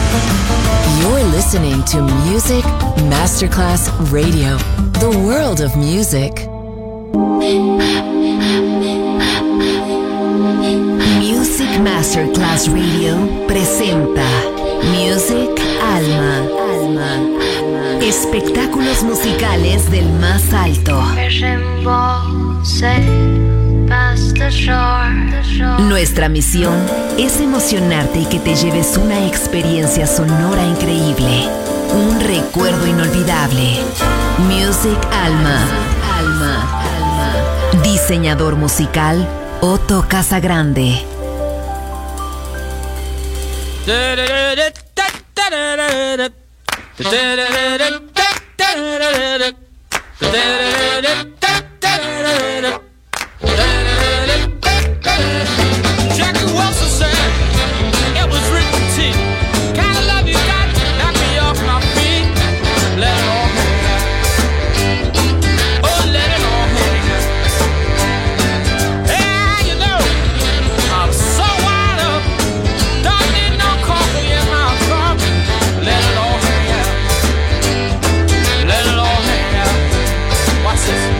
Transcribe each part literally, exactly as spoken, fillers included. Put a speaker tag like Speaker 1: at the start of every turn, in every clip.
Speaker 1: You're listening to Music Masterclass Radio, the world of music. Music Masterclass Radio presenta Music Alma. Alma. Espectáculos musicales del más alto. Nuestra misión es emocionarte y que te lleves una experiencia sonora increíble, un recuerdo inolvidable. Music Alma. Alma. Alma. Diseñador musical Otto Casagrande.
Speaker 2: Jackie Wilson said it was written to you. Kind of love you got, knock me off my feet. Let it all hang out. Oh, let it all hang out. Yeah, you know, I'm so wired up. Don't need no coffee in my cup. Let it all hang out. Let it all hang out. Watch this.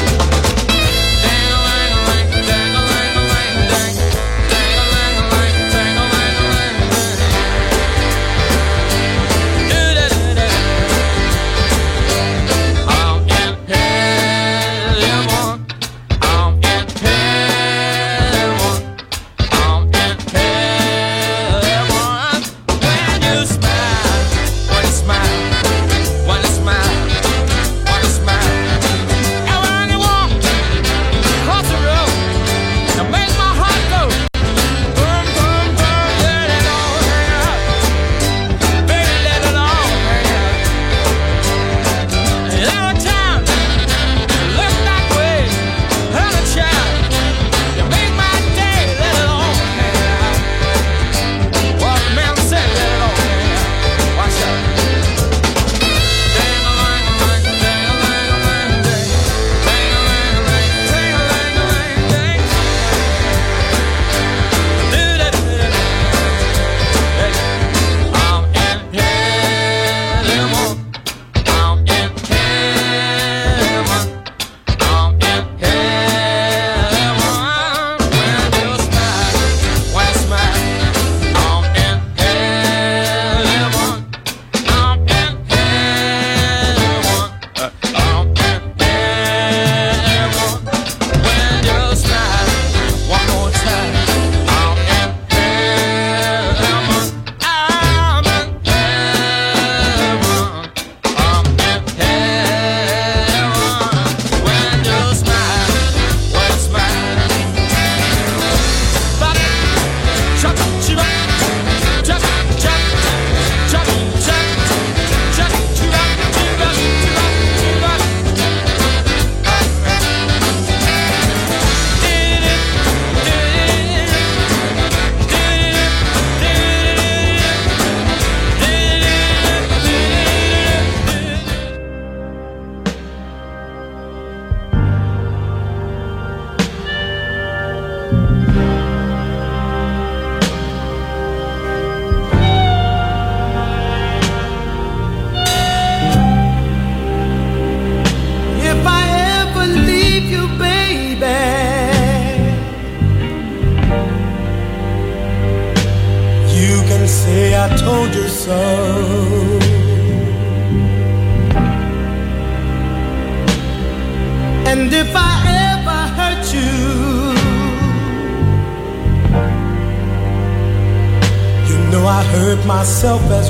Speaker 3: Myself as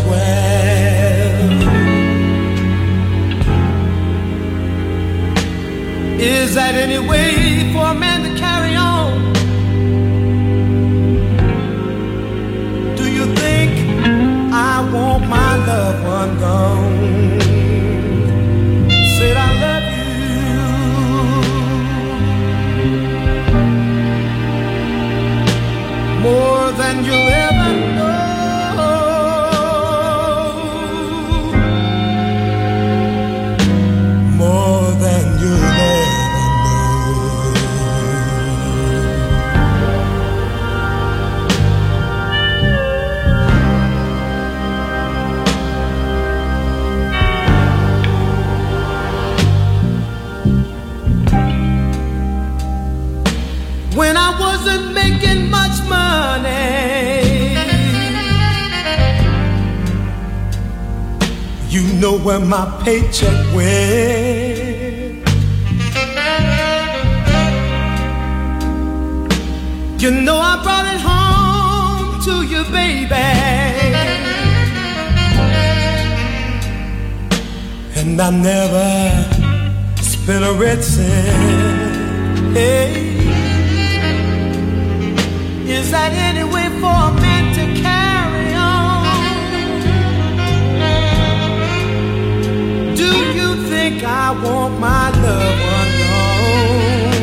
Speaker 3: well. Is that any way for a man to carry on? Do you think I want my loved one gone? Said I love you more than you'll ever know. More than you'll ever know. You know where my paycheck went. You know I brought it home to you, baby. And I never spent a red cent. Hey, is that any way for a man to carry on? Do you think I want my love alone?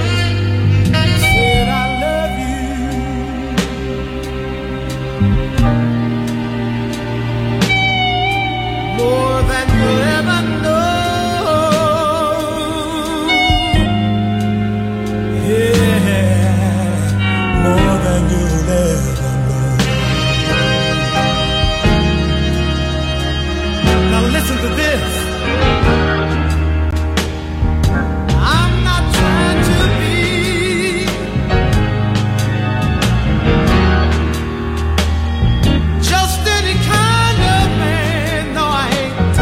Speaker 3: Said I love you more than you ever know. Listen to this. I'm not trying to be just any kind of man. No, I ain't.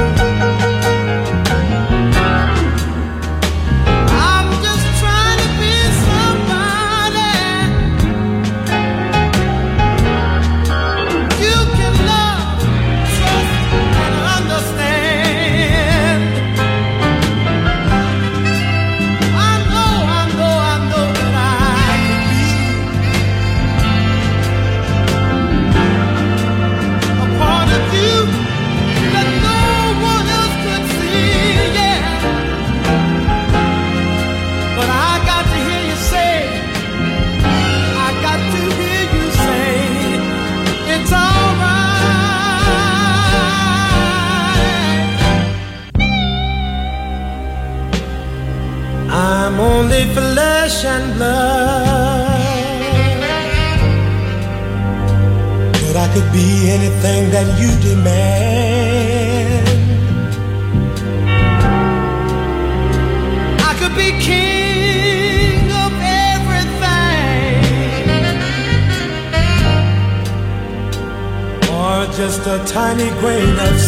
Speaker 3: I'm just trying to be somebody you can love, trust, and understand. I'm only flesh and blood, but I could be anything that you demand. I could be king of everything, or just a tiny grain of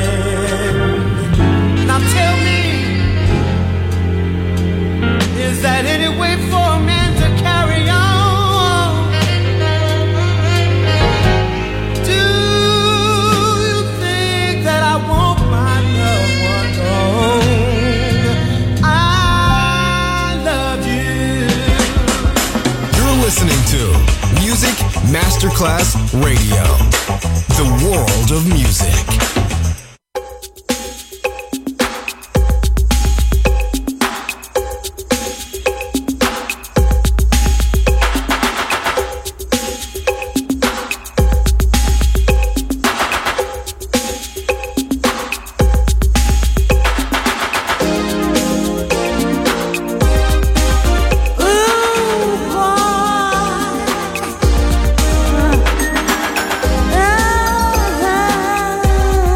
Speaker 3: sand. Now tell me, is that any way for a man to carry on? Do you think that I want my loved one gone? I love you.
Speaker 4: You're listening to Music Masterclass Radio, the world of music.
Speaker 5: Oh,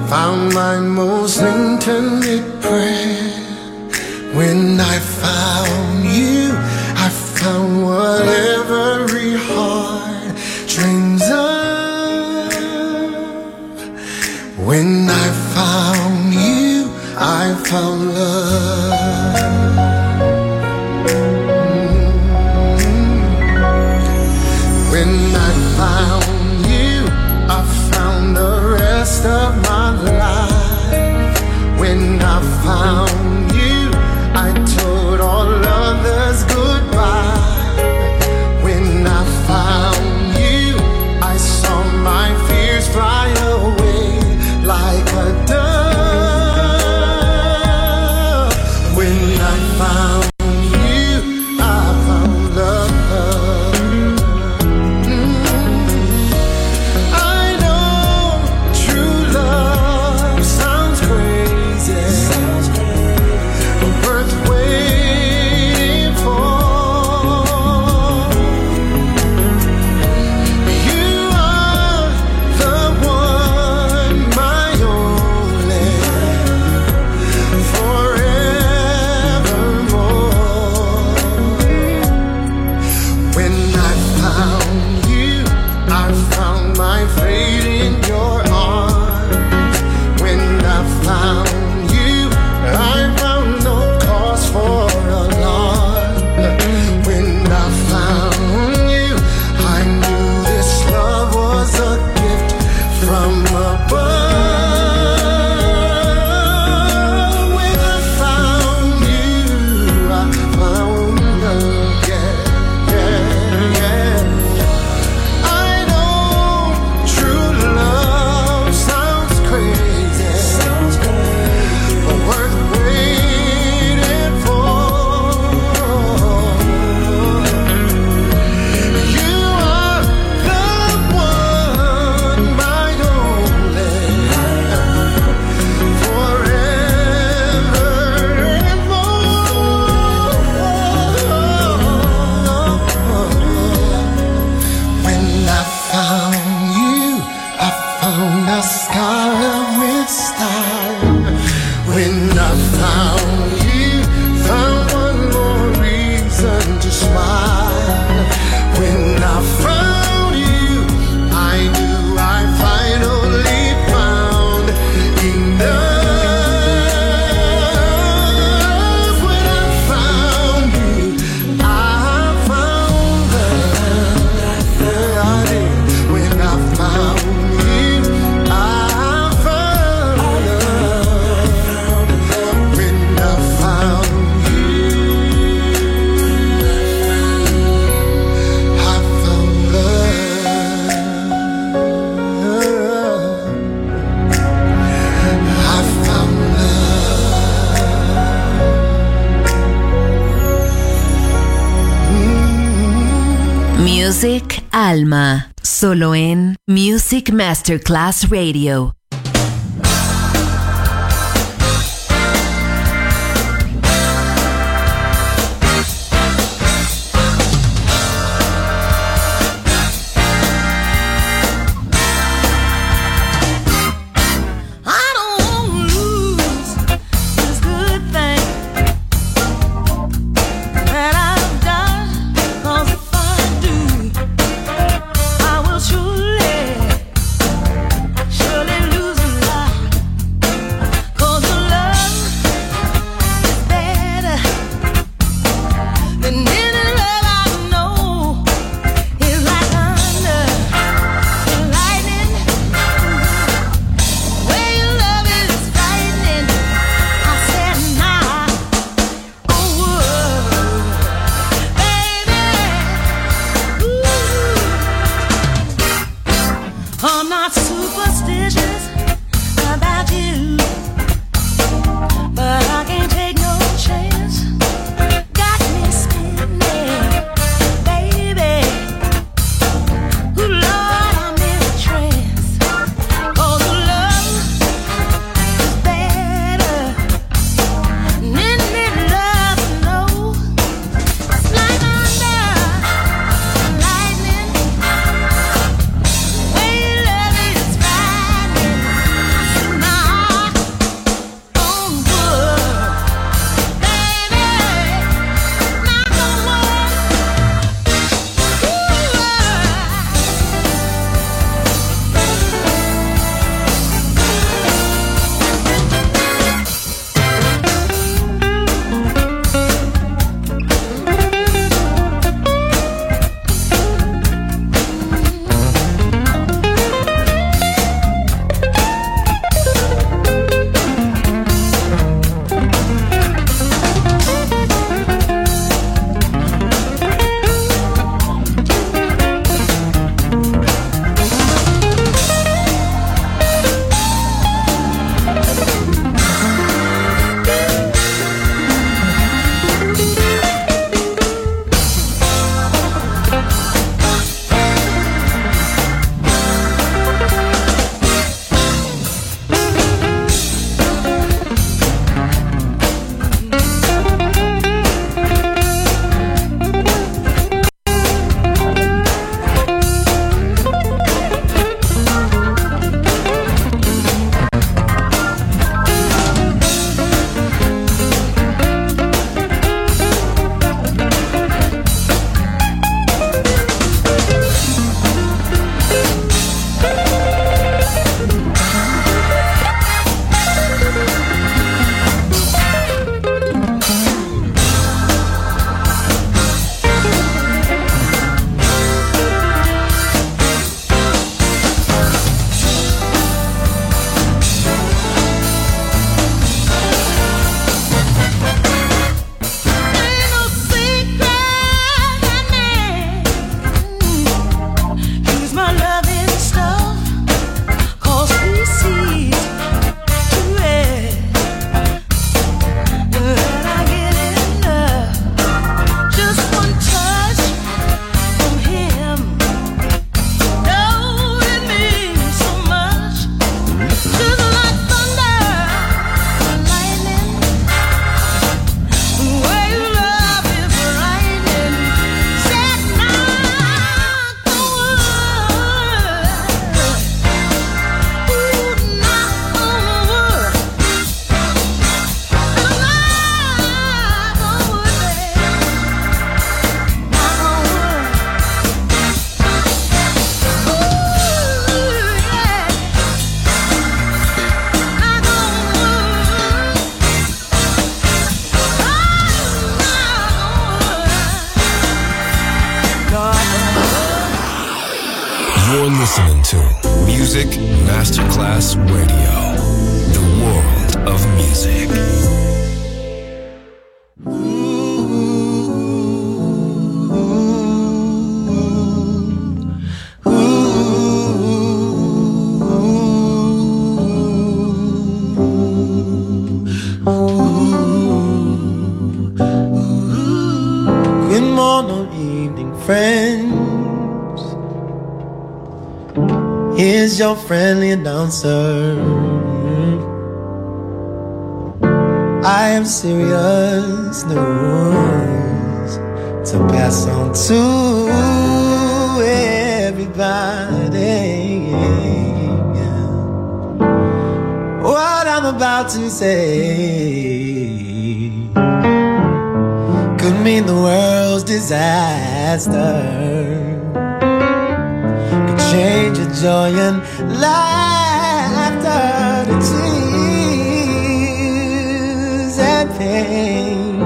Speaker 3: found my most intimate prayer. When I found you, I found what every heart dreams of. When I found you, I found love. When I found you, I found the rest of my life. When I found you, I told all others goodbye. When I found you, I saw my fears fly away like a dove. When I found you, I found love.
Speaker 1: Music Alma, solo en Music Masterclass Radio.
Speaker 5: Surely
Speaker 4: listening to Music Masterclass Radio, the world of music.
Speaker 3: Good morning, evening, friends. Here's your friendly announcer. I have serious news to pass on to everybody. What I'm about to say could mean the world's disaster. Change your joy and laughter to tears and pain.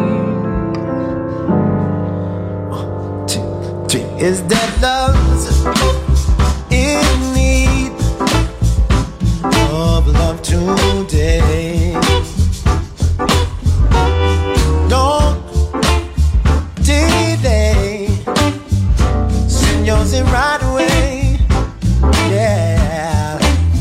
Speaker 3: One, two, three. Is that love's in need of love today? Don't delay. Send yours in right away. Yeah,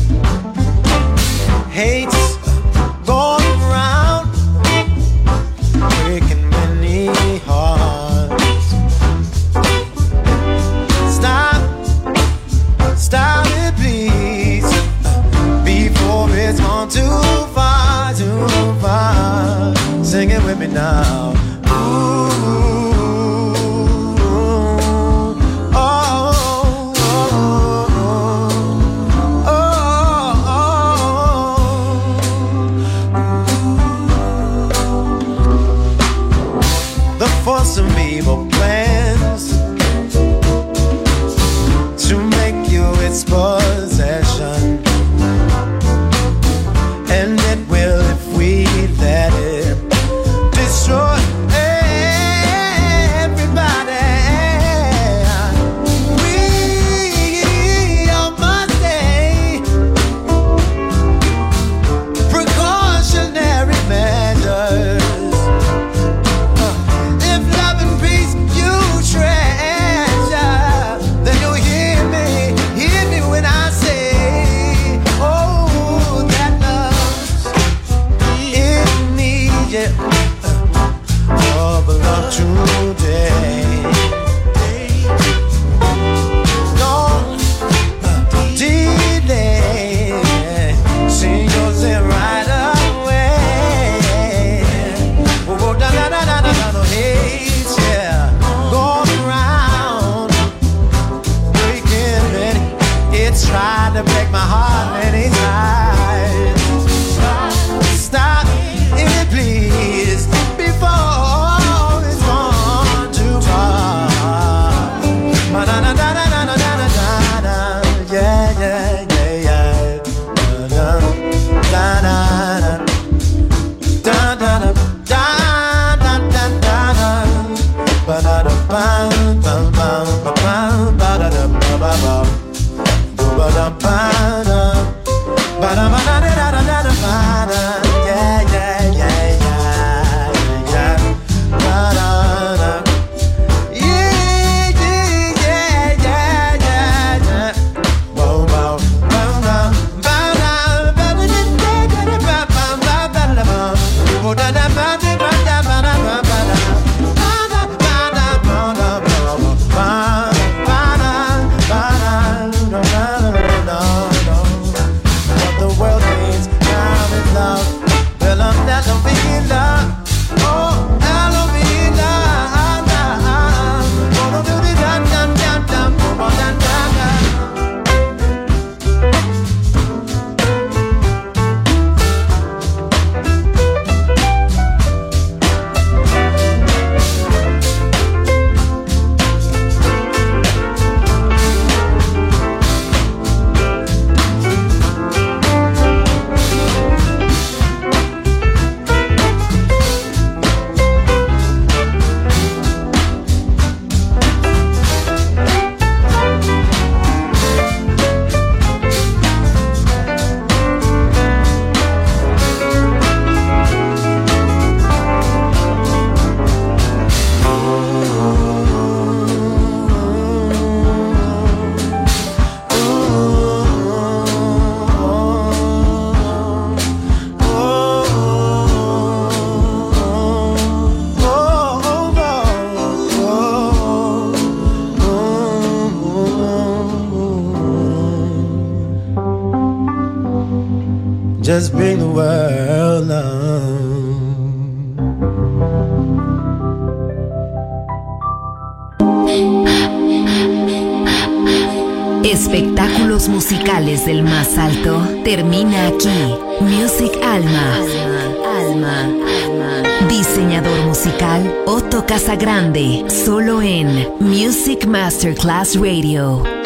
Speaker 3: hate's going round, breaking many hearts. Stop, stop it please, before it's gone too far, too far. Sing it with me now. For some evil plans to make you its possession, and it will if we let it destroy everybody. We all must take precautionary measures. Today, don't delay. See yours in right away. Oh, da da da da da da, hate, yeah, going around, breaking many. It's tried to break my heart many times. Stop it, please, before. just bring the world down.
Speaker 1: Espectáculos musicales del más alto termina aquí. Music Alma. Alma, Alma. Diseñador musical Otto Casagrande. Solo en Music Masterclass Radio.